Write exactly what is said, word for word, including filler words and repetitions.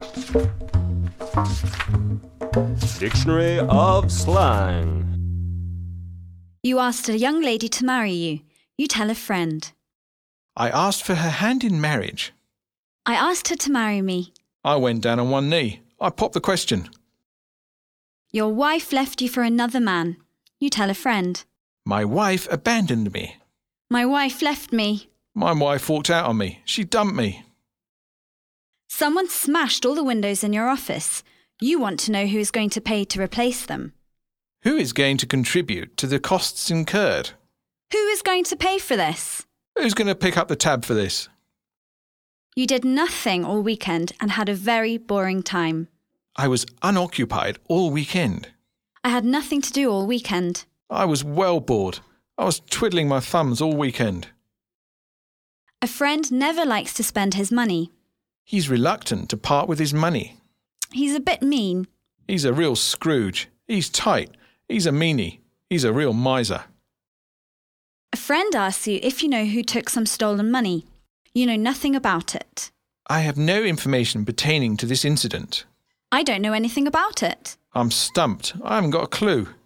Dictionary of slang. You asked a young lady to marry you. You tell a friend. I asked for her hand in marriage. I asked her to marry me. I went down on one knee. I popped the question. Your wife left you for another man. You tell a friend. My wife abandoned me. My wife left me. My wife walked out on me. She dumped me. Someone smashed all the windows in your office. You want to know who is going to pay to replace them. Who is going to contribute to the costs incurred? Who is going to pay for this? Who's going to pick up the tab for this? You did nothing all weekend and had a very boring time. I was unoccupied all weekend. I had nothing to do all weekend. I was well bored. I was twiddling my thumbs all weekend. A friend never likes to spend his money. He's reluctant to part with his money. He's a bit mean. He's a real Scrooge. He's tight. He's a meanie. He's a real miser. A friend asks you if you know who took some stolen money. You know nothing about it. I have no information pertaining to this incident. I don't know anything about it. I'm stumped. I haven't got a clue.